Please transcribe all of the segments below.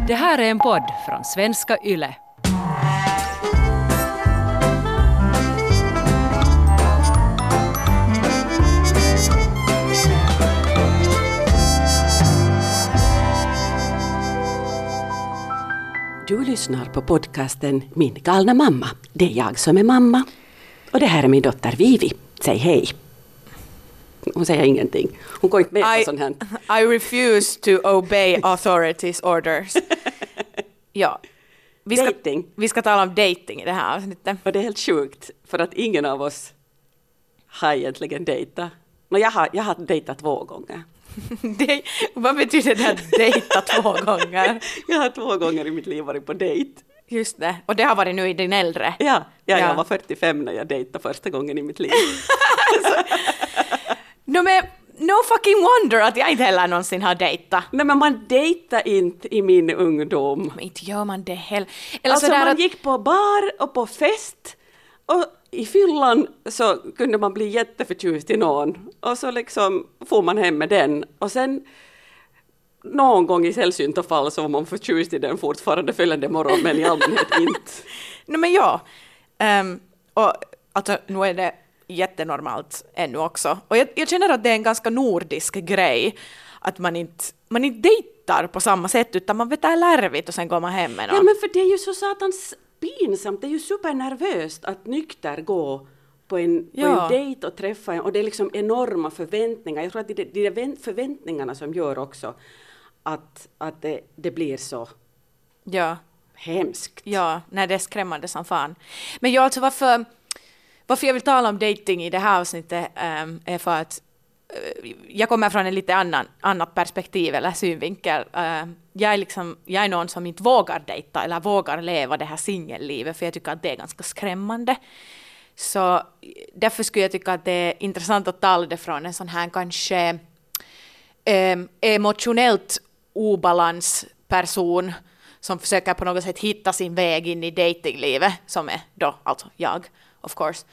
Det här är en podd från Svenska Yle. Du lyssnar på podcasten Min galna mamma. Det är jag som är mamma. Och det här är min dotter Vivi. Säg hej. Hon säger ingenting. Hon går inte med på sånt här. I refuse to obey authorities orders. Ja. Vi ska tala om dating i det här avsnittet. Och det är helt sjukt. För att ingen av oss har egentligen dejtat. Jag har dejtat 2 gånger. Vad betyder det att dejta 2 gånger? Jag har 2 gånger i mitt liv varit på dejt. Just det. Och det har varit nu i din äldre. Ja, jag var 45 när jag dejtade första gången i mitt liv. No fucking wonder att jag inte heller någonsin har dejtat. Nej, men man dejtar inte i min ungdom. Men inte gör man det heller. Alltså man gick på bar och på fest. Och i fyllan så kunde man bli jätteförtjust i någon. Och så liksom får man hem med den. Och sen någon gång i sällsynta fall så var man förtjust i den fortfarande följande morgon. Men i allmänhet inte. Nej men ja. Och alltså nu är det jättenormalt ännu också. Och jag känner att det är en ganska nordisk grej. Att man inte dejtar på samma sätt utan man vet lärvigt och sen går man hem med någon. Ja men för det är ju så satans pinsamt. Det är ju supernervöst att nykter gå på en dejt och träffa en. Och det är liksom enorma förväntningar. Jag tror att det är förväntningarna som gör också att det blir så hemskt. Ja, nej, det är skrämmande som fan. Men jag alltså varför jag vill tala om dating i det här avsnittet är för att jag kommer från en lite annat perspektiv eller synvinkel. Jag är någon som inte vågar dejta eller vågar leva det här singellivet för jag tycker att det är ganska skrämmande. Så därför skulle jag tycka att det är intressant att tala det från en sån här kanske emotionellt obalansperson som försöker på något sätt hitta sin väg in i datinglivet som är då alltså jag, of course.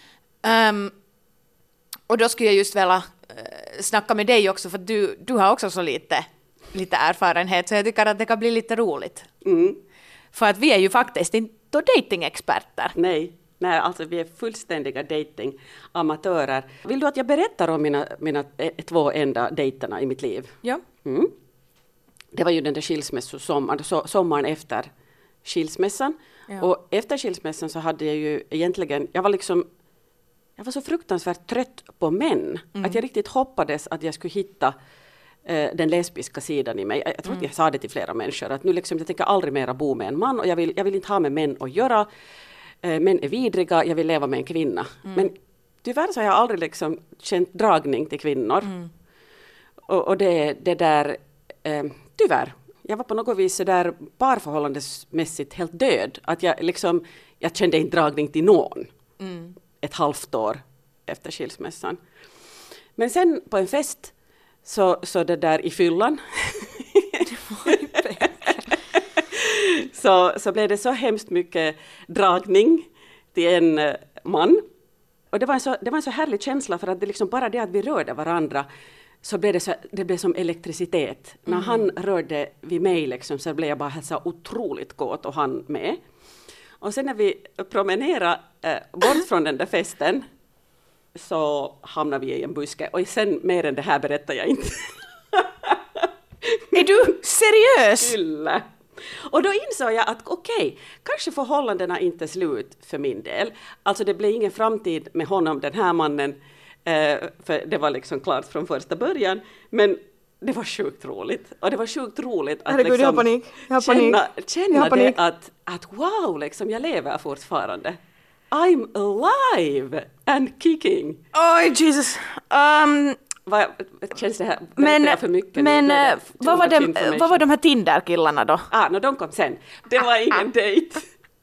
Och då skulle jag just vilja snacka med dig också för du har också så lite erfarenhet så jag tycker att det kan bli lite roligt. Mm. För att vi är ju faktiskt inte datingexperter. Nej, alltså vi är fullständiga datingamatörer. Vill du att jag berättar om mina 2 enda dejterna i mitt liv? Ja. Mm. Det var ju den där sommaren efter skilsmässan. Ja. Och efter skilsmässan så hade jag ju egentligen, jag var så fruktansvärt trött på män. Att jag riktigt hoppades att jag skulle hitta den lesbiska sidan i mig. Jag tror att jag sa det till flera människor. Att nu liksom, jag tänker aldrig mera bo med en man. Och jag vill inte ha med män att göra. Män är vidriga, jag vill leva med en kvinna. Men tyvärr så har jag aldrig liksom känt dragning till kvinnor. Och det där, tyvärr. Jag var på något vis så där parförhållandesmässigt helt död. Att jag kände inte dragning till någon. Ett halvt år efter skilsmässan. Men sen på en fest så det där i fyllan så blev det så hemskt mycket dragning till en man. Och det var en så härlig känsla för att det liksom bara det att vi rörde varandra så blev det blev som elektricitet. När han rörde vid mig liksom, så blev jag bara så otroligt kåt och han med. Och sen när vi promenerade bort från den där festen så hamnade vi i en buske. Och sen mer än det här berättar jag inte. Är du seriös? Kyllä. Och då insåg jag att okej, kanske förhållandena inte är slut för min del. Alltså det blev ingen framtid med honom, den här mannen. För det var liksom klart från första början. Men det var sjukt roligt. Och det var sjukt roligt att herregud, liksom känna det att wow, liksom, jag lever fortfarande. I'm alive and kicking. Oj, Jesus. Känns det här men för mycket? Men vad var de här Tinder-killarna då? De kom sen. Det var ingen dejt.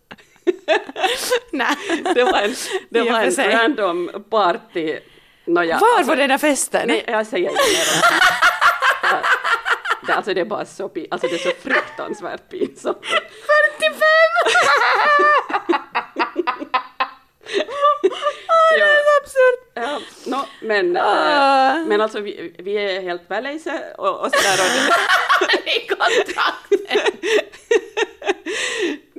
Nej. Det var en random party. Var var den här festen? Nej, jag säger inte mer. Alltså det är bara så det är så fruktansvärt pinsamt. 45! Det är så absurt. Ja, men alltså vi är helt väl och sådär. I kontrakten.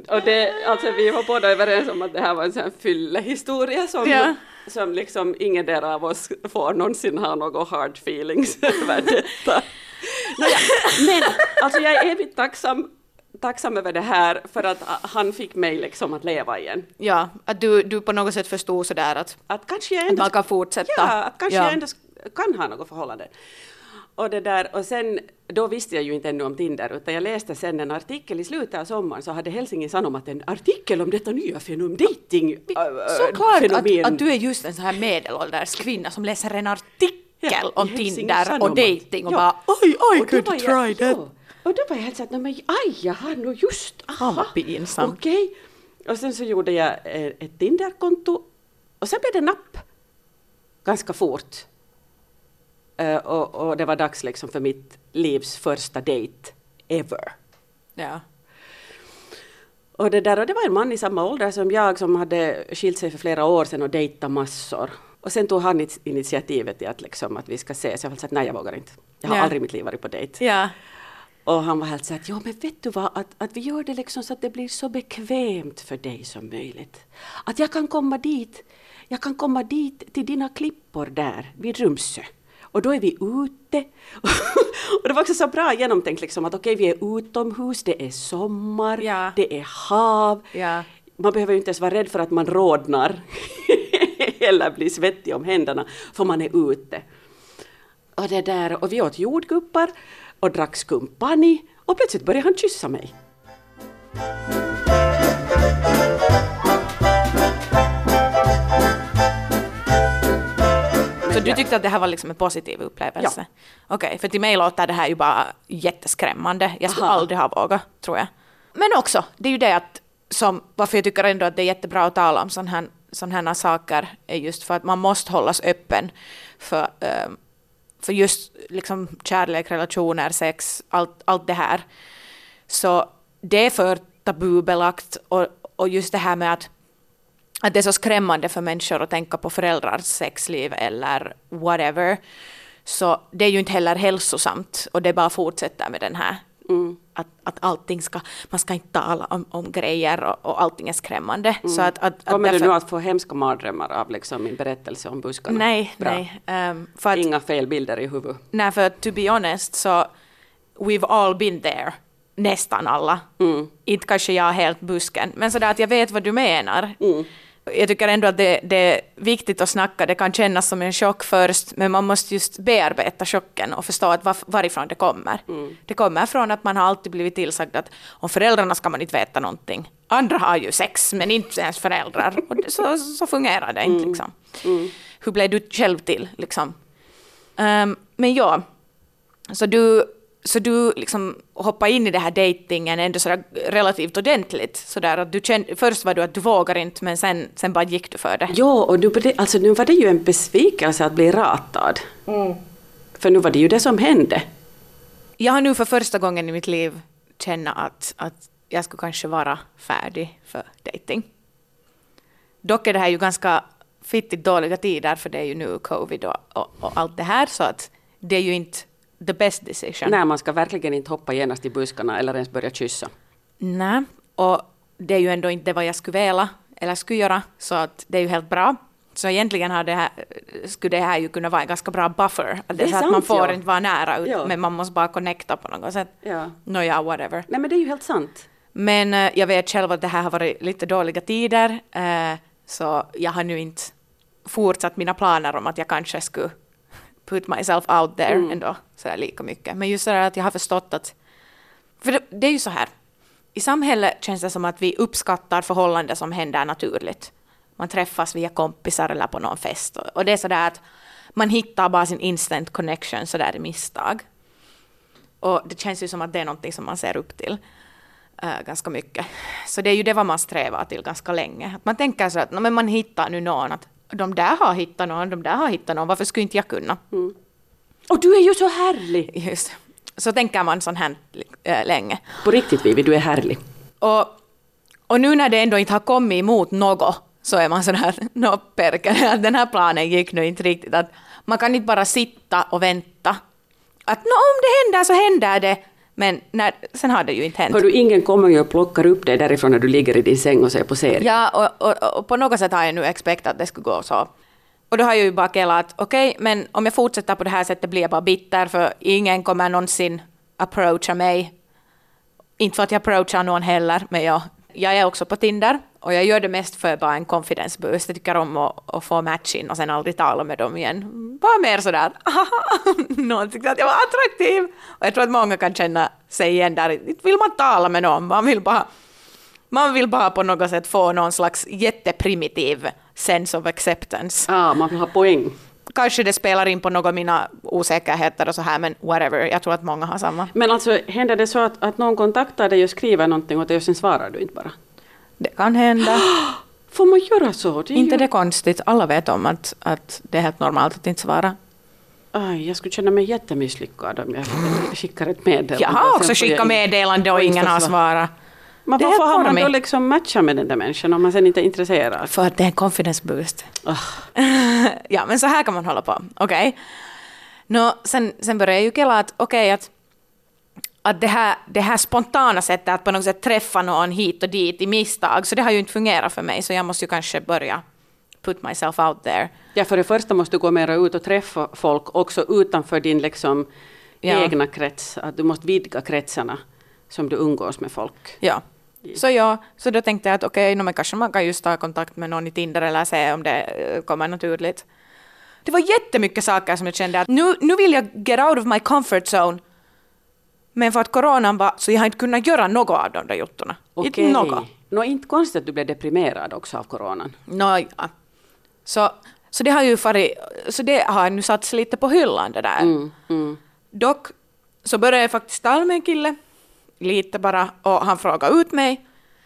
Och alltså vi var båda överens om att det här var en sån här fyllehistoria som liksom ingen där av oss får någonsin ha några hard feelings över detta. Men alltså jag är evigt tacksam över det här för att han fick mig liksom att leva igen. Ja, att du på något sätt förstod sådär att kanske jag ändå, att man kan fortsätta. Ja, att kanske jag ändå kan ha något förhållande. Och sen, då visste jag ju inte ännu om Tinder, utan jag läste sen en artikel i slutet av sommaren, så hade Helsingin Sanomat en artikel om detta nya dating såklart fenomen. att du är just en sån här medelålders kvinna som läser en artikel om Tinder och dating och bara I could try that. Och då var jag helt så att jag har nog just, pinsamt. Okej. Och sen så gjorde jag ett Tinder-konto och sen blev det napp ganska fort. Och det var dags liksom för mitt livs första date ever. Ja. Och det var en man i samma ålder som jag som hade skilt sig för flera år sedan och dejtat massor. Och sen tog han initiativet till att vi ska ses. Jag var så att nej, jag vågar inte. Jag har aldrig i mitt liv varit på dejt. Ja. Och han var helt så att, men vet du vad, att vi gör det liksom så att det blir så bekvämt för dig som möjligt. Att jag kan komma dit till dina klippor där vid Rumsö. Och då är vi ute. Och det var också så bra genomtänkt liksom, att okej, vi är utomhus, det är sommar, det är hav. Ja. Man behöver ju inte ens vara rädd för att man rodnar eller blir svettig om händerna, för man är ute. Och vi åt jordguppar och drack skumpani och plötsligt började han kyssa mig. Så du tyckte att det här var liksom en positiv upplevelse? Ja. Okej, för till mig låter det här ju bara jätteskrämmande. Jag skulle aldrig ha vågat, tror jag. Men också, det är ju det att, varför jag tycker ändå att det är jättebra att tala om sådana här saker, är just för att man måste hållas öppen för just liksom kärlek, relationer, sex, allt det här. Så det är för tabubelagt och just det här med att det är så skrämmande för människor att tänka på föräldrars sexliv eller whatever. Så det är ju inte heller hälsosamt och det bara fortsätter med den här att allting man ska inte tala om grejer och allting är skrämmande. Så att kommer du nu att få hemska mardrömmar av liksom min berättelse om buskarna? Nej. För inga fel bilder i huvudet. Nej, för to be honest så we've all been there. Nästan alla. Inte kanske jag helt busken. Men sådär att jag vet vad du menar. Jag tycker ändå att det är viktigt att snacka. Det kan kännas som en chock först. Men man måste just bearbeta chocken och förstå att varifrån det kommer. Det kommer från att man har alltid blivit tillsagd att om föräldrarna ska man inte veta någonting. Andra har ju sex men inte ens föräldrar. Och så fungerar det inte liksom. Hur blev du själv till liksom? Men ja, så du liksom hoppade in i det här datingen ändå sådär relativt ordentligt. Sådär att först var du att du vågar inte, men sen bara gick du för det. Ja, och nu var det ju en besvikelse att bli ratad. För nu var det ju det som hände. Jag har nu för första gången i mitt liv känna att jag skulle kanske vara färdig för dating. Dock är det här ju ganska fittigt dåliga tider, för det är ju nu covid och allt det här, så att det är ju inte the best decision. Nej, man ska verkligen inte hoppa genast i buskarna eller ens börja kyssa. Nej, och det är ju ändå inte vad jag skulle vilja eller skulle göra, så att det är ju helt bra. Så egentligen skulle det här ju kunna vara en ganska bra buffer. Det är så sant, att man får inte vara nära, men man måste bara connecta på något sätt. Ja. Whatever. Nej, men det är ju helt sant. Men jag vet själv att det här har varit lite dåliga tider, så jag har nu inte fortsatt mina planer om att jag kanske skulle put myself out there ändå sådär lika mycket. Men just sådär att jag har förstått att, för det är ju så här, i samhället känns det som att vi uppskattar förhållanden som händer naturligt. Man träffas via kompisar eller på någon fest, och det är sådär att man hittar bara sin instant connection sådär i misstag. Och det känns ju som att det är någonting som man ser upp till ganska mycket. Så det är ju det vad man strävar till ganska länge. Att man tänker så att men man hittar nu någon, att de där har hittat någon, varför skulle inte jag kunna? Och du är ju så härlig! Just. Så tänker man sån här länge. På riktigt, Vivi, du är härlig. Och nu när det ändå inte har kommit emot något, så är man sån här, att den här planen gick nu inte riktigt. Att man kan inte bara sitta och vänta. Att om det händer så händer det. Men sen har det ju inte hänt. Har du ingen kommer och plockar upp dig därifrån när du ligger i din säng och ser på serien? Ja, och på något sätt har jag nu expectat att det skulle gå så. Och då har jag ju bara kallat att okej, men om jag fortsätter på det här sättet blir jag bara bitter för ingen kommer någonsin approacha mig. Inte för att jag approachar någon heller, men jag är också på Tinder och jag gör det mest för bara en confidence boost. Jag tycker om att få matchen och sen aldrig tala med dem igen. Bara mer sådär, någon tyckte att jag var attraktiv. Och jag tror att många kan känna sig igen där. Inte vill man tala med någon, man vill bara på något sätt få någon slags jätteprimitiv sense of acceptance. Man vill ha poäng. Kanske det spelar in på något av mina osäkerheter och så här, men whatever. Jag tror att många har samma. Men alltså, händer det så att någon kontaktar dig och skriver någonting och sen svarar du inte bara? Det kan hända. Får man göra så? Inte det konstigt. Alla vet om att det är helt normalt att inte svara. Jag skulle känna mig jättemisslyckad om jag skickar ett meddelande. Jag har också skickat meddelande och ingen har svarat. Men varför har man då liksom matchat med den där människan om man sen inte är intresserad? För att det är en confidence boost. Ja, men så här kan man hålla på. Okej. Sen börjar jag ju kalla att att det här spontana sättet att på något sätt träffa någon hit och dit i misstag, så det har ju inte fungerat för mig, så jag måste ju kanske börja put myself out there. Ja, för det första måste du gå mera ut och träffa folk också utanför din liksom egna krets. Att du måste vidga kretsarna som du umgås med folk. Ja. Så då tänkte jag att men kanske man kan just ta kontakt med någon i Tinder eller se om det kommer naturligt. Det var jättemycket saker som jag kände att nu vill jag get out of my comfort zone. Men för att coronan var så jag har inte kunnat göra något av de där juttorna. Inte något. Inte konstigt att du blev deprimerad också av coronan. Ja. Så det har ju så det har nu satts lite på hyllan det där. Dock så började jag faktiskt tala med en kille lite bara och han frågade ut mig.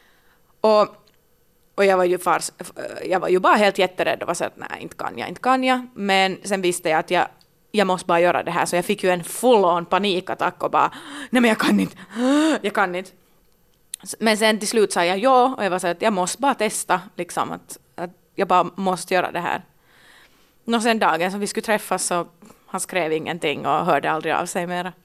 Och jag var ju bara helt jätterädd och var så att nej, inte kan jag. Men sen visste jag att jag måste bara göra det här, så jag fick ju en full-on panikattack och bara, nej men jag kan inte. Men sen till slut sa jag ja, och jag var så att jag måste bara testa, liksom, att jag bara måste göra det här. Och sen dagen som vi skulle träffas så han skrev ingenting och hörde aldrig av sig mera.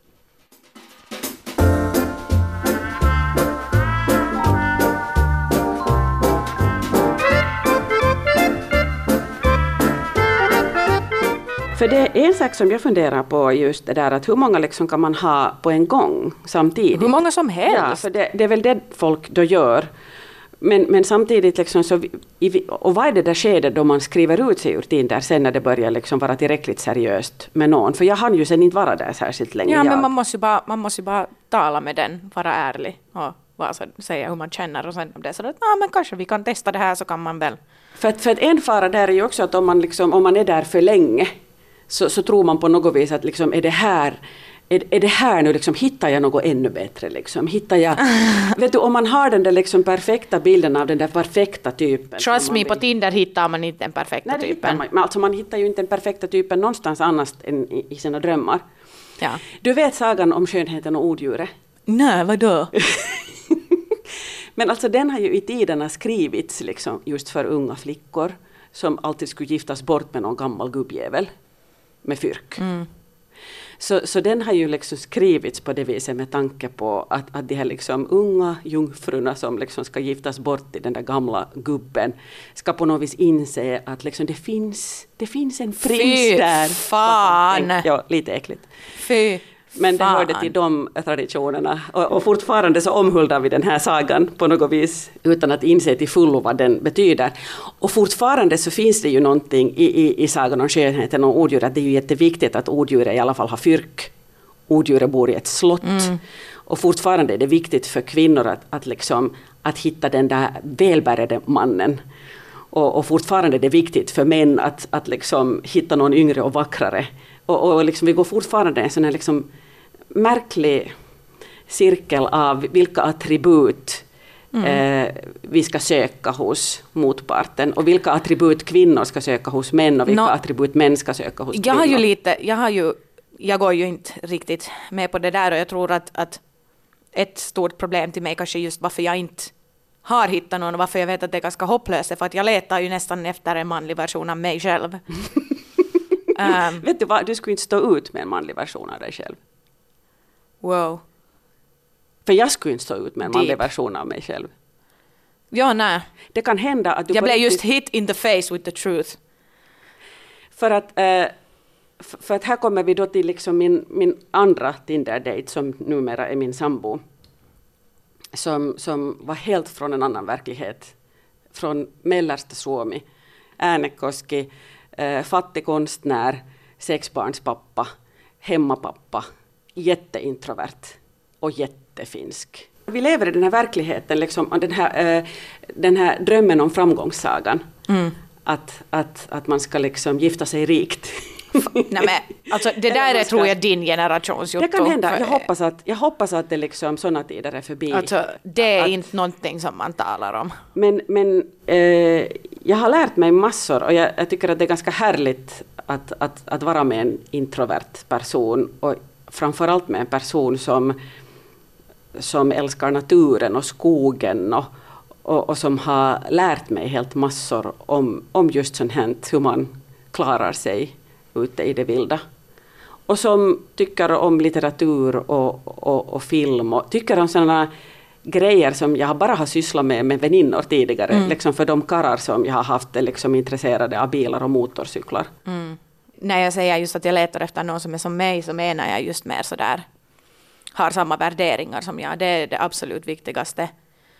För det är en sak som jag funderar på just det där att hur många liksom kan man ha på en gång samtidigt? Hur många som helst. Ja, för det är väl det folk då gör. Men samtidigt liksom så, och vad är det där skedet då man skriver ut sig ur Tinder sen när det börjar liksom vara tillräckligt seriöst med någon? För jag hann ju sen inte vara där särskilt länge. Ja, men man måste ju bara tala med den, vara ärlig och säga hur man känner och sen om det är så att men kanske vi kan testa det här, så kan man väl. För att en fara där är ju också att om man är där för länge så tror man på något vis att liksom, är det här nu liksom, hittar jag något ännu bättre liksom, hittar jag vet du, om man har den där liksom perfekta bilden av den där perfekta typen. Trust me, på Tinder hittar man inte den perfekta typen. Man hittar ju inte den perfekta typen någonstans annars än i sina drömmar. Ja. Du vet sagan om skönheten och odjuret? Nej, vadå? Men alltså den har ju i tiderna skrivits liksom just för unga flickor som alltid skulle giftas bort med någon gammal gubbjävel med fyrk. Så den har ju liksom skrivits på det viset med tanke på att de här liksom unga jungfrurna som liksom ska giftas bort i den där gamla gubben ska på något vis inse att liksom det finns en prins där. Fan! Ja, lite äckligt. Fy. Men det hörde till de traditionerna. Och fortfarande så omhuldar vi den här sagan på något vis utan att inse till fullo vad den betyder. Och fortfarande så finns det ju någonting i sagan om skönheten och odjuret. Det är ju jätteviktigt att odjuret i alla fall har fyrk. Odjuret bor i ett slott. Och fortfarande är det viktigt för kvinnor att hitta den där välbärgade mannen. Och fortfarande är det viktigt för män att liksom hitta någon yngre och vackrare. Och liksom vi går fortfarande en sån här liksom märklig cirkel av vilka attribut vi ska söka hos motparten och vilka attribut kvinnor ska söka hos män och vilka attribut män ska söka hos kvinnor. Jag går ju inte riktigt med på det där, och jag tror att ett stort problem till mig kanske just varför jag inte har hittat någon och varför jag vet att det är ganska hopplöst är för att jag letar ju nästan efter en manlig version av mig själv. Vet du vad, du skulle inte stå ut med en manlig version av dig själv. Wow. För jag skulle inte stå ut med en manlig version av mig själv. Ja, nej. Det kan hända att du... Jag blev just hit in the face with the truth. För att här kommer vi då till liksom min andra Tinder-date som numera är min sambo. Som var helt från en annan verklighet. Från Mellersta Suomi, Äänekoski, fattig konstnär, sexbarnspappa, hemmapappa, jätteintrovert och jättefinsk. Vi lever i den här verkligheten, liksom, den här drömmen om framgångssagan. Att man ska liksom gifta sig rikt. Nej, men, alltså, det där är, tror jag, din generations jotto. Det kan hända. Jag hoppas att det liksom sådana tider är förbi. Alltså, det är inte någonting som man talar om. Men jag har lärt mig massor och jag tycker att det är ganska härligt att vara med en introvert person och framförallt med en person som älskar naturen och skogen och som har lärt mig helt massor om just sånt här, hur man klarar sig ute i det vilda. Och som tycker om litteratur och film och tycker om sådana grejer som jag bara har sysslat med väninnor tidigare. Liksom för de karlar som jag har haft är liksom intresserade av bilar och motorcyklar. När jag säger just att jag letar efter någon som är som mig, så menar jag just mer sådär, har samma värderingar som jag. Det är det absolut viktigaste.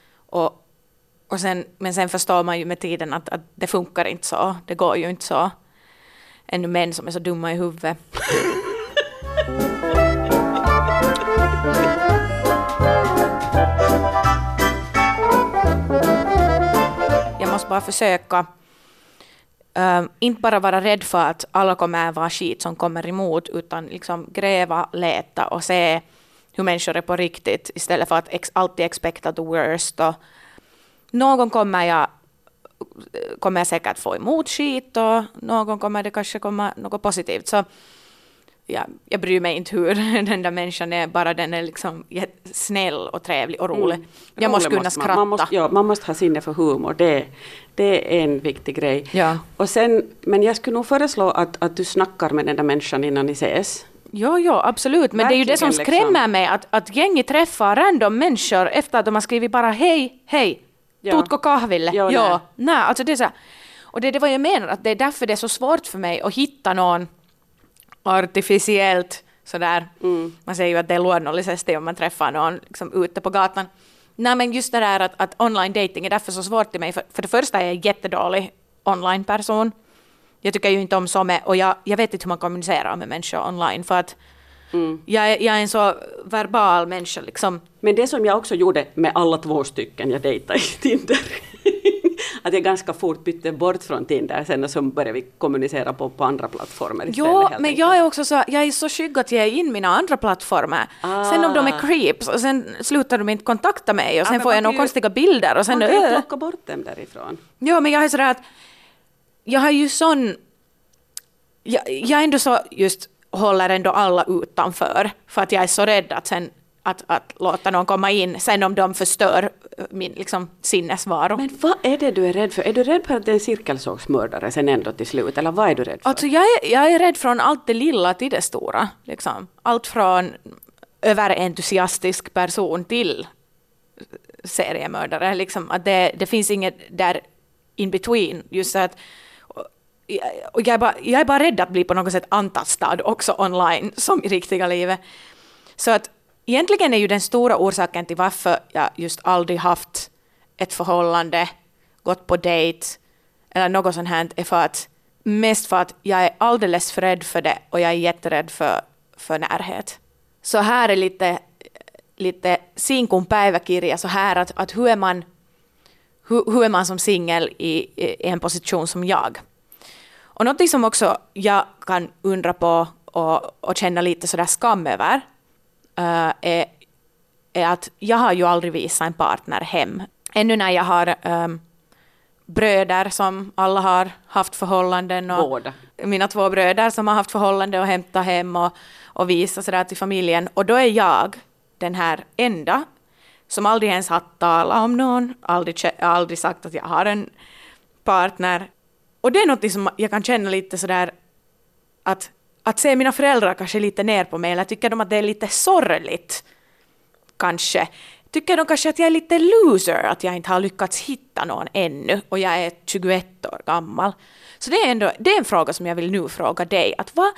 Men sen förstår man ju med tiden att det funkar inte så. Det går ju inte så. Ännu män som är så dumma i huvudet. Jag måste bara försöka inte bara vara rädd för att alla kommer att vara skit som kommer emot, utan liksom gräva, leta och se hur människor är på riktigt istället för att alltid expecta the worst. Och någon kommer jag säkert få emot skit och någon kommer det kanske komma något positivt. Så jag bryr mig inte hur den där människan är, bara den är liksom snäll och trevlig och rolig. Jag måste kunna skratta. Man måste ha sinne för humor, det är en viktig grej. Ja. Och sen, men jag skulle nog föreslå att du snackar med den där människan innan ni ses. Ja, absolut. Men verkligen, det är ju det som skrämmer mig, att gänget träffar random människor efter att de har skrivit bara hej, tutko kahville? Ja, nej, alltså det är så. Och det är vad jag menar, att det är därför det är så svårt för mig att hitta någon artificiellt sådär. Man säger ju att det är luonnollisesti om man träffar någon liksom ute på gatan. Nej, men just det där att online dating är därför så svårt till mig. För det första är jag en jättedålig online-person. Jag tycker ju inte om som och jag vet inte hur man kommunicerar med människor online, för att jag är en så verbal människa liksom. Men det som jag också gjorde med alla 2 stycken jag dejtade i Tinder, att jag ganska fort bytte bort från Tinder sen, och så började vi kommunicera på andra plattformar istället. Jo, men jag är också så, jag är så skygg att ge in mina andra plattformar. Sen om de är creeps och sen slutar de inte kontakta mig och sen får jag några konstiga bilder och sen man kan plocka bort dem därifrån. Jo, men jag är sådär att jag har ju sån, jag ändå så just håller ändå alla utanför, för att jag är så rädd att sen att låta någon komma in sen om de förstör min liksom sinnesvaro. Men vad är det du är rädd för? Är du rädd för att det är en cirkelsågsmördare sen ändå till slut? Eller vad är du rädd för? Alltså jag är rädd från allt det lilla till det stora. Liksom. Allt från överentusiastisk person till seriemördare. Liksom. Att det finns inget där in between. Just så att, och jag är bara rädd att bli på något sätt antastad också online som i riktiga livet. Så att egentligen är ju den stora orsaken till varför jag just aldrig haft ett förhållande, gått på dejt eller något sånt här, är mest för att jag är alldeles för rädd för det och jag är jätterädd för närhet. Så här är lite sinkun päiväkirja så här att hur är man som singel i en position som jag. Och något som också jag kan undra på och känna lite sådär skam över är att jag har ju aldrig visat en partner hem. Ännu när jag har bröder som alla har haft förhållanden. Och båda. Mina 2 bröder som har haft förhållanden och hämtat hem och visat sådär till familjen. Och då är jag den här enda som aldrig ens har talat om någon. Aldrig sagt att jag har en partner. Och det är något som jag kan känna lite sådär att se mina föräldrar kanske lite ner på mig, eller tycker de att det är lite sorgligt kanske, tycker de kanske att jag är lite loser, att jag inte har lyckats hitta någon ännu och jag är 21 år gammal. Så det är en fråga som jag vill nu fråga dig. Att vad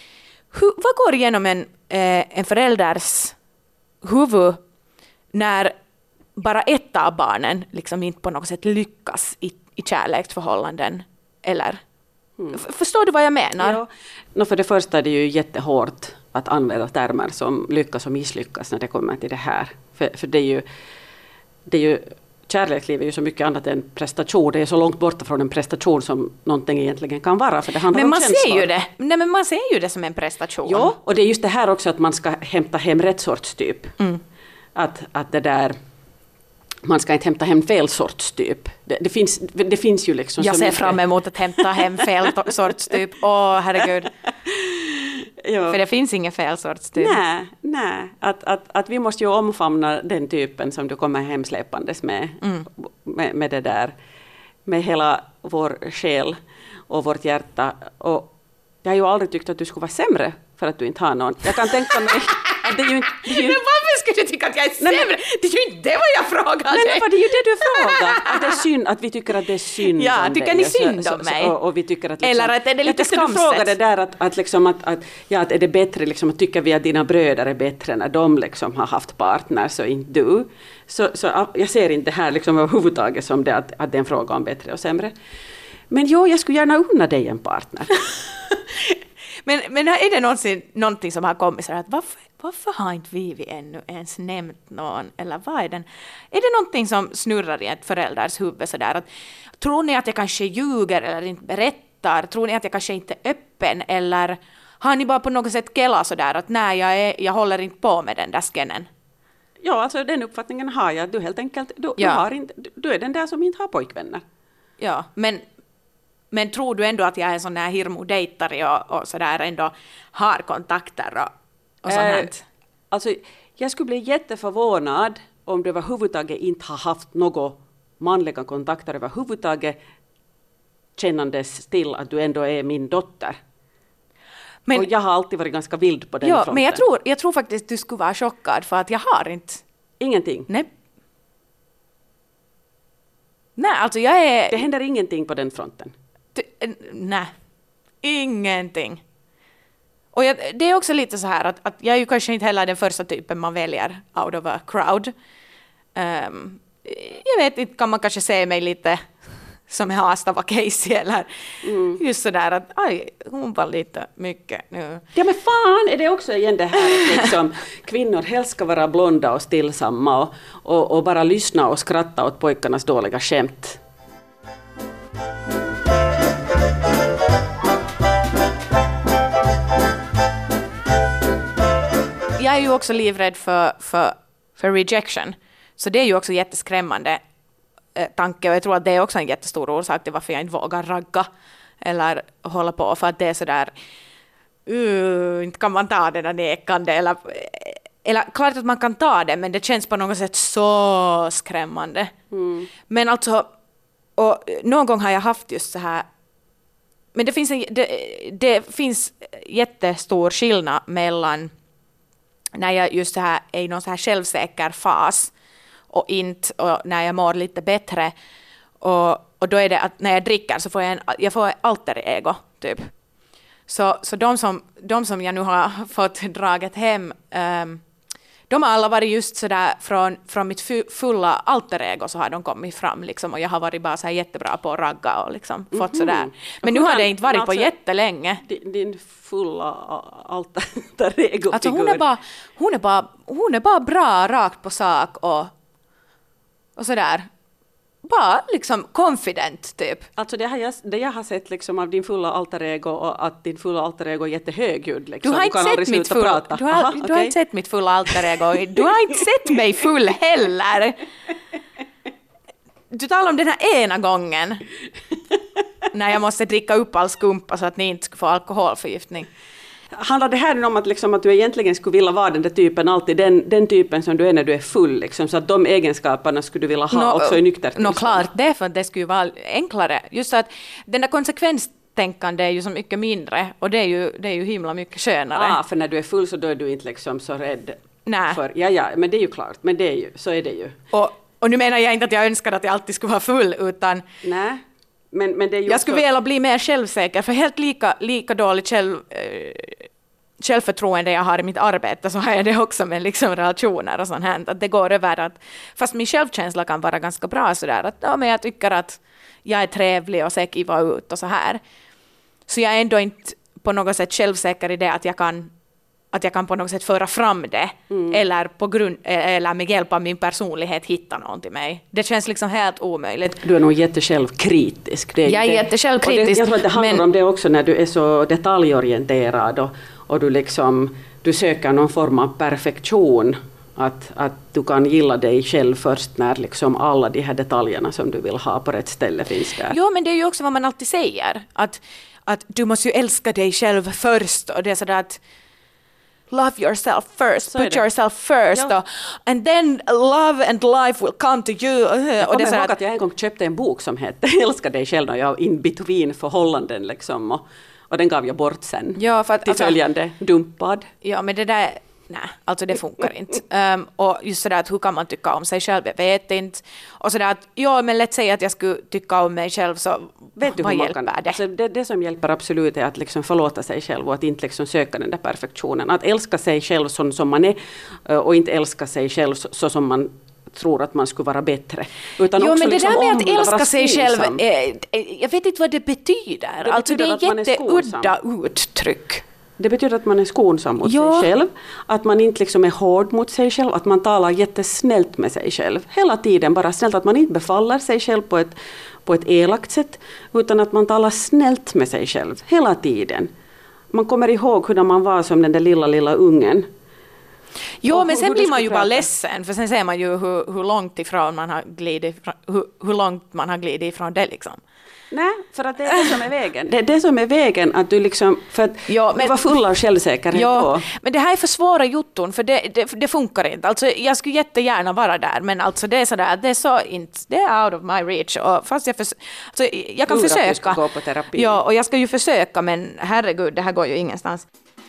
går igenom en förälders huvud när bara ett av barnen liksom inte på något sätt lyckas i kärleksförhållanden? Eller? Förstår du vad jag menar? Ja. För det första är det ju jättehårt att använda termer som lyckas och misslyckas när det kommer till det här. För det är ju kärleksliv är ju så mycket annat än prestation. Det är så långt borta från en prestation som någonting egentligen kan vara. För det handlar om känslor. Men man ser ju det som en prestation. Ja, och det är just det här också att man ska hämta hem rätt sorts typ. Att det där, man ska inte hämta hem fel sorts typ. Det finns ju liksom jag så ser mycket. fram emot att hämta hem fel sorts typ. Herregud. Ja. För det finns ingen fel sorts typ. Nej. Att vi måste ju omfamna den typen som du kommer hemsläpandes med det där. Med hela vår själ och vårt hjärta. Och jag har ju aldrig tyckt att du skulle vara sämre för att du inte har någon. Jag kan tänka mig att det är ju inte... Men varför skulle du tycka att jag är sämre? Det är ju inte det vad jag frågade. Nej, det är ju det du frågar. Att det är synd, att vi tycker att det är synd ja, om tycker dig. Ni synd om mig? Och vi tycker att liksom, eller att är det lite skamset? Jag tyckte du frågade där att är det bättre, liksom, att tycker vi att dina bröder är bättre när de liksom har haft partners och inte du. Så jag ser inte här liksom överhuvudtaget som det att det är en fråga om bättre och sämre. Men jag skulle gärna unna dig en partner. Men är det någonting som har kommit så att varför har inte vi ännu ens nämnt någon? Eller vad är den? Är det någonting som snurrar i ett förälders huvud sådär? Att, tror ni att jag kanske ljuger eller inte berättar? Tror ni att jag kanske inte är öppen? Eller har ni bara på något sätt kela sådär att nej, jag håller inte på med den där skennen? Ja, alltså den uppfattningen har jag. Du helt enkelt, du är den där som inte har pojkvänner. Ja, men tror du ändå att jag är en sån här hirmodejtare och sådär ändå har kontakter och sånt här? Alltså, jag skulle bli jätteförvånad om du överhuvudtaget inte har haft några manliga kontakter överhuvudtaget kännandes till att du ändå är min dotter. Men, och jag har alltid varit ganska vild på den fronten. Men jag tror faktiskt du skulle vara chockad för att jag har inte... Ingenting? Nej, alltså jag är... Det händer ingenting på den fronten? Nej, ingenting. Och det är också lite så här att jag är ju kanske inte heller den första typen man väljer out of a crowd. Jag vet inte, kan man kanske se mig lite som Haastava var Casey eller just sådär att hon var lite mycket nu. Ja men fan, är det också igen det här liksom, kvinnor helst ska vara blonda och stillsamma och bara lyssna och skratta åt pojkarnas dåliga skämt. Jag är ju också livrädd för rejection. Så det är ju också jätteskrämmande tanke. Och jag tror att det är också en jättestor orsak till varför jag inte vågar ragga. Eller hålla på. För att det är sådär... inte kan man ta det där nekande. Eller klart att man kan ta det. Men det känns på något sätt så skrämmande. Men alltså... Och någon gång har jag haft just så här... Men det finns jättestor skillnad mellan... när jag just så här är i någon så här självsäker fas och när jag mår lite bättre och då är det att när jag dricker så får jag får alter ego typ. Så de som jag nu har fått draget hem de har alla varit just så där från mitt fulla alter ego så har de kommit fram liksom och jag har varit bara så här jättebra på att ragga och liksom fått så där. Men nu har det inte varit på jättelänge. Din fulla alter ego. Alltså hon är bara bra rakt på sak och så där. Bara liksom confident typ. Alltså det jag har sett liksom av din fulla alter ego och att din fulla alter ego är jättehögljudd liksom. Du har inte sett mitt fulla alter ego. Du har inte sett mig full heller. Du talar om den här ena gången när jag måste dricka upp all skumpa så att ni inte ska få alkoholförgiftning. Handlar det här om att, liksom, att du egentligen skulle vilja vara den där typen, alltid den typen som du är när du är full, liksom, så att de egenskaperna skulle du vilja ha också i nyktert tillstånd? Klart, det är för att det skulle vara enklare. Just att den där konsekvenstänkande är ju så mycket mindre och det är ju himla mycket skönare. För när du är full så då är du inte liksom så rädd Nej. Ja, men det är ju klart, men det är ju, så är det ju. Och nu menar jag inte att jag önskar att jag alltid skulle vara full, utan Nej, men det är ju jag skulle vilja bli mer självsäker, för helt lika dåligt självförtroende jag har i mitt arbete, så har jag det också med liksom relationer och sånt här. Att det går över att, fast min självkänsla kan vara ganska bra sådär, att ja, men jag tycker att jag är trevlig och ser kiva ut och så här. Så jag är ändå inte på något sätt självsäker i det att jag kan på något sätt föra fram det eller med hjälp av min personlighet hitta någon till mig. Det känns liksom helt omöjligt. Du är nog jättesjälvkritisk. Jag är jättesjälvkritisk. Jag tror att det handlar om det också när du är så detaljorienterad och du söker någon form av perfektion. Att du kan gilla dig själv först när liksom alla de här detaljerna som du vill ha på rätt ställe finns där. Jo, men det är ju också vad man alltid säger. Att du måste ju älska dig själv först. Och det är sådär att love yourself first, put yourself first. Ja. And then love and life will come to you. Jag kommer ihåg att jag en gång köpte en bok som hette Älska dig själv och jag in between förhållanden liksom. Och den gav jag bort sen till följande dumpad. Ja, men det där... Nej, alltså det funkar inte. Och just sådär att hur kan man tycka om sig själv, jag vet inte. Och sådär att, ja men lätt säga att jag skulle tycka om mig själv, så vet du vad hur hjälper det? Alltså det som hjälper absolut är att liksom förlåta sig själv och att inte liksom söka den där perfektionen. Att älska sig själv som man är och inte älska sig själv så som man tror att man skulle vara bättre. Utan jo, också men det liksom där med att älska sig själv, skonsam. Jag vet inte vad det betyder. Alltså det är ett jätteudda uttryck. Det betyder att man är skonsam mot sig själv, att man inte liksom är hård mot sig själv, att man talar jättesnällt med sig själv. Hela tiden bara snällt, att man inte befaller sig själv på ett elakt sätt, utan att man talar snällt med sig själv hela tiden. Man kommer ihåg hur man var som den där lilla ungen. Jo, men sen blir man ju bara ledsen, för sen ser man ju hur långt ifrån man har glidit, hur långt man har glidit ifrån det liksom. Nej, för att det är det som är vägen. Det är det som är vägen, att du liksom, för att du var full av självsäkerhet då. Men det här är för svåra jutton, för det funkar inte. Alltså jag skulle jättegärna vara där, men alltså det är sådär, det är så inte, det är out of my reach. Och fast jag kan försöka. Du ska gå på terapi. Ja, och jag ska ju försöka, men herregud, det här går ju ingenstans.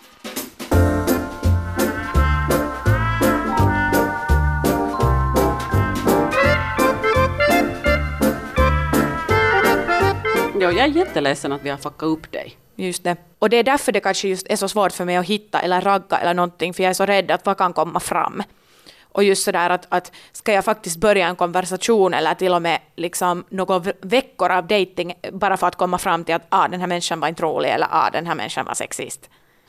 Jag är jätteledsen att vi har fuckat upp dig. Just det. Och det är därför det kanske just är så svårt för mig att hitta eller ragga eller någonting, för jag är så rädd att vad kan komma fram. Och just sådär att ska jag faktiskt börja en konversation eller till och med liksom några veckor av dating bara för att komma fram till att den här människan var inte rolig eller den här människan var sexist.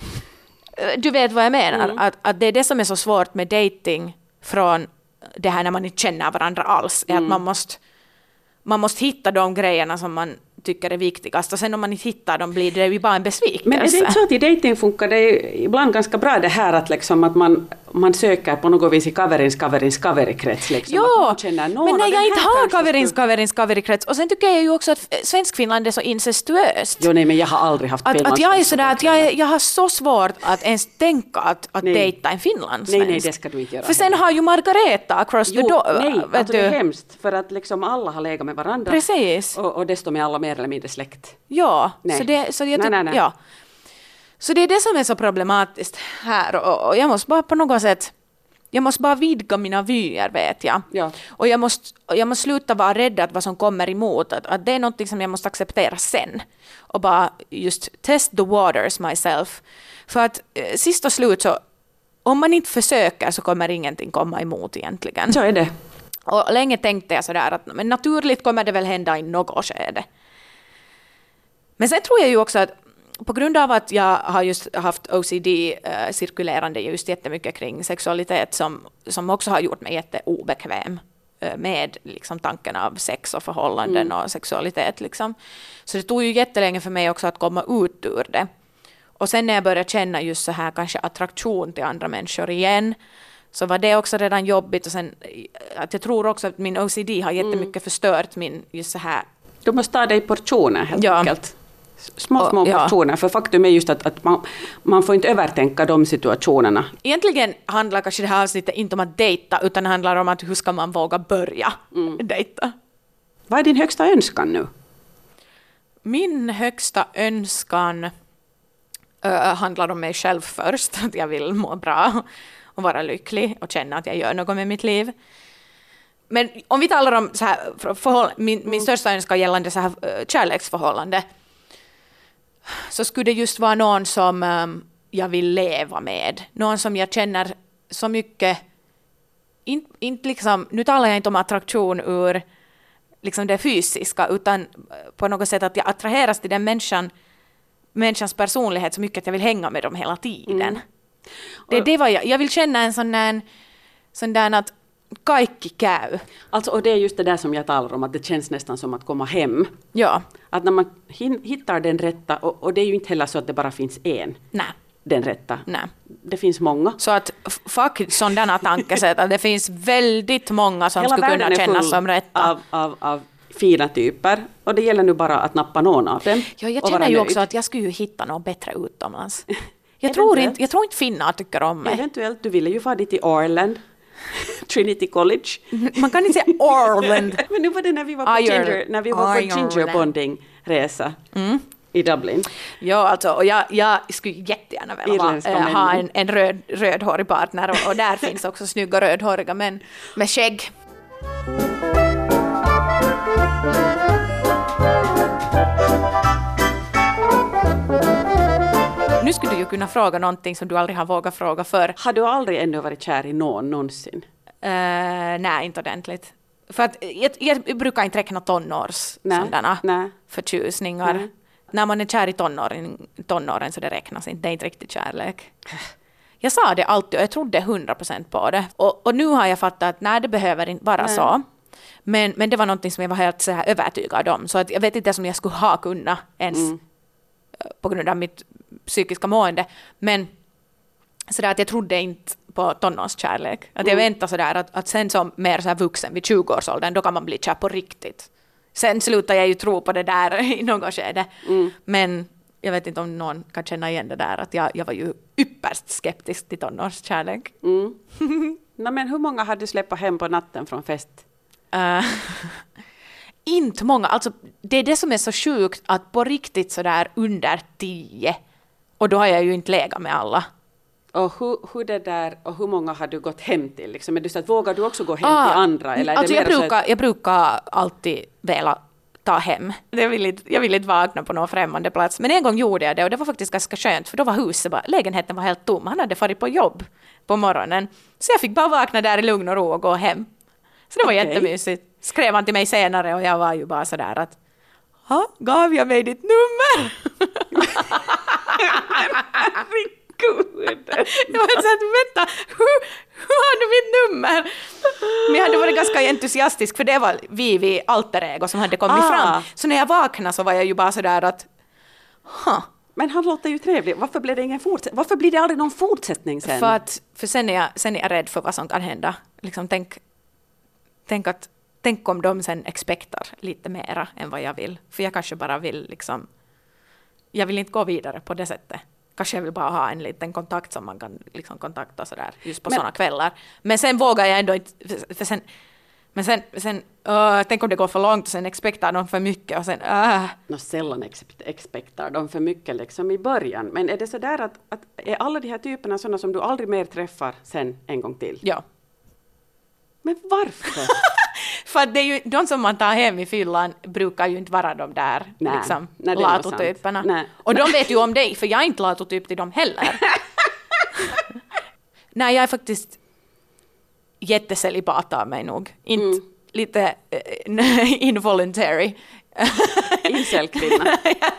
Du vet vad jag menar? Att det är det som är så svårt med dating från det här när man inte känner varandra alls. Är att man måste hitta de grejerna som man tycker är viktigast, och sen om man inte hittar dem blir det ju bara en besvikelse. Men är det inte så att i dating funkar det ibland ganska bra det här att, liksom, att man söker på något vis i kaverikrets liksom, jo, men när jag inte har kaverikrets, och sen tycker jag ju också att svensk Finland är så incestuöst. Jo, nej, men jag har aldrig haft att jag är sådär att jag har så svårt att ens tänka att dejta en finlandssvensk. Nej, det ska du inte göra. För sen har ju Margareta across the door. Nej, alltså det är hemskt, för att liksom alla har legat med varandra. Precis. Och desto med alla mer eller mindre släkt. Ja, nej. Nej. Ja. Så det är det som är så problematiskt här, och jag måste bara på något sätt, jag måste bara vidga mina vyer, vet jag. Ja. Och jag måste sluta vara rädd att vad som kommer emot, att det är något som jag måste acceptera sen. Och bara just test the waters myself. För att sist och slut så, om man inte försöker så kommer ingenting komma emot egentligen. Så är det. Och länge tänkte jag sådär att men naturligt kommer det väl hända i något skede. Men sen tror jag ju också att på grund av att jag har just haft OCD cirkulerande just jättemycket kring sexualitet som också har gjort mig jätteobekväm med liksom tanken av sex och förhållanden och sexualitet. Liksom. Så det tog ju jättelänge för mig också att komma ut ur det. Och sen när jag började känna just så här kanske attraktion till andra människor igen, så var det också redan jobbigt. Och sen att jag tror också att min OCD har jättemycket förstört min just så här. Du måste ta dig portioner helt enkelt. Små portioner, för faktum är just att man får inte övertänka de situationerna. Egentligen handlar kanske det här avsnittet inte om att dejta, utan det handlar om att hur ska man våga börja dejta. Vad är din högsta önskan nu? Min högsta önskan handlar om mig själv först, att jag vill må bra. och vara lycklig och känna att jag gör något med mitt liv. Men om vi talar om så här min största önskan gällande så här kärleksförhållande, så skulle det just vara någon som jag vill leva med. Någon som jag känner så mycket, inte liksom, nu talar jag inte om attraktion ur liksom det fysiska, utan på något sätt att jag attraheras till den människans personlighet så mycket att jag vill hänga med dem hela tiden. Det var jag vill känna en sån där att kaikki käy. Alltså, och det är just det där som jag talar om, att det känns nästan som att komma hem. Ja. Att när man hittar den rätta, och det är ju inte heller så att det bara finns en. Nej. Den rätta. Nej. Det finns många. Så att fuck sådana tankesätt, att det finns väldigt många som hela skulle kunna kännas som rätta. Av fina typer, och det gäller nu bara att nappa någon av dem. Ja, jag känner ju också att jag skulle ju hitta något bättre utomlands. Jag tror inte finnar tycker om mig. Eventuellt, du ville ju fara dit till Ireland. Trinity College. Man kan inte säga Ireland. Men nu var det när vi var på ginger bonding-resa i Dublin. Ja, alltså, och jag skulle jättegärna vilja ha en rödhårig partner, och där finns också snygga rödhåriga män med skägg. Nu skulle du ju kunna fråga någonting som du aldrig har vågat fråga förr. Har du aldrig ännu varit kär i någon någonsin? Nej, inte ordentligt. För att jag brukar inte räkna sådana förtjusningar. Nej. När man är kär i tonåren så det räknas inte. Det är inte riktigt kärlek. Jag sa det alltid och jag trodde 100% på det. Och nu har jag fattat att nej, det behöver inte vara så. Men det var någonting som jag var helt så här övertygad om. Så att jag vet inte om jag skulle ha kunnat ens på grund av mitt psykiska mående. Men sådär att jag trodde inte på tonårskärlek. Att jag väntade sådär att sen som mer så här vuxen vid 20-årsåldern, då kan man bli kär på riktigt. Sen slutar jag ju tro på det där i något skede. Men jag vet inte om någon kan känna igen det där, att jag var ju ypperst skeptisk till tonårskärlek. Men hur många hade du släppt hem på natten från fest? Inte många. Alltså, det är det som är så sjukt, att på riktigt sådär under 10, och då har jag ju inte legat med alla. Och hur många har du gått hem till? Liksom? Men du sa att vågar du också gå hem till andra? Eller alltså är det jag brukar alltid vilja ta hem. Jag vill inte vakna på någon främmande plats. Men en gång gjorde jag det, och det var faktiskt ganska skönt, för då var lägenheten var helt tom. Han hade farit på jobb på morgonen. Så jag fick bara vakna där i lugn och ro och gå hem. Så det var jättemysigt. Skrev han till mig senare och jag var ju bara sådär att gav jag mig ditt nummer? Jag var så att vänta, hur har du mitt nummer? Men jag hade varit ganska entusiastisk, för det var vi alter ego som hade kommit fram. Så när jag vaknade så var jag ju bara sådär att Men han låter ju trevlig. Varför blir det ingen Varför blir det aldrig någon fortsättning sen? För sen är jag rädd för vad som kan hända. Liksom, tänk om de sen expektar lite mera än vad jag vill. För jag kanske bara vill liksom, jag vill inte gå vidare på det sättet. Kanske jag vill bara ha en liten kontakt som man kan liksom kontakta sådär just på sådana kvällar. Men sen vågar jag ändå inte, sen tänk om det går för långt och sen expektar de för mycket och sen sällan expektar de för mycket liksom i början. Men är det så där att är alla de här typerna sådana som du aldrig mer träffar sen en gång till? Ja. Men varför? För att det är ju, de som man tar hem i fyllan brukar ju inte vara de där liksom, latotyperna. Och de vet ju om dig, för jag är inte latotyp till dem heller. Nej, jag är faktiskt jättecelibat av mig nog. Inte lite involuntary. Incelkvinna.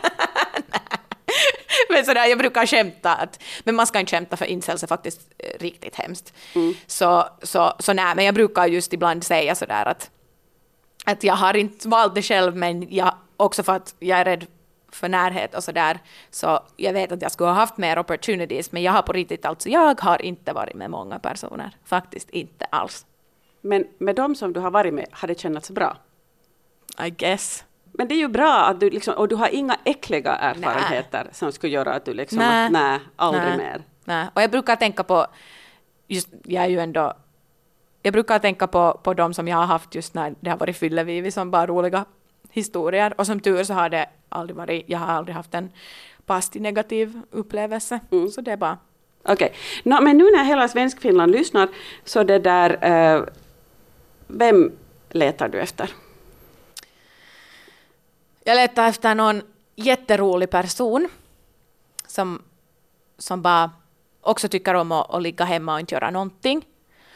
Men sådär, jag brukar skämta men man ska inte skämta, för incels är faktiskt riktigt hemskt. Så nej, men jag brukar just ibland säga sådär att jag har inte valt det själv, men också för att jag är rädd för närhet och sådär, så jag vet att jag skulle ha haft mer opportunities, men jag har på riktigt jag har inte varit med många personer, faktiskt inte alls. Men med dem som du har varit med, har det känts bra? I guess. Men det är ju bra att du liksom, och du har inga äckliga erfarenheter som skulle göra att du liksom, aldrig mer. Nej, och jag brukar tänka på, jag brukar tänka på de som jag har haft just när det har varit fyllevivi, som bara roliga historier, och som tur så har jag har aldrig haft en passiv negativ upplevelse, så det är bara Okej. Men nu när hela Svenskfinland lyssnar, så det där, vem letar du efter? Jag letar efter någon jätterolig person som bara också tycker om att ligga hemma och inte göra någonting.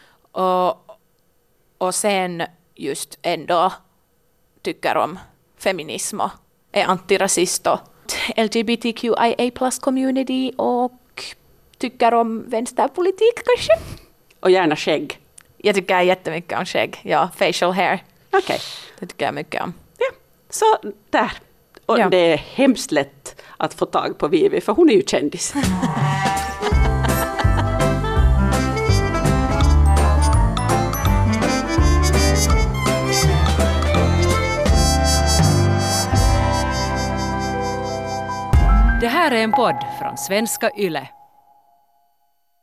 Och sen just ändå tycker om feminism och är antirasist och LGBTQIA plus community och tycker om vänsterpolitik kanske. Och gärna skägg. Jag tycker jättemycket om skägg. Ja, facial hair. Okej. Det tycker jag mycket om. Ja, så där. Och Ja. det är hemskt lätt att få tag på Vivi, för hon är ju kändis. Det här är en podd från svenska YLE.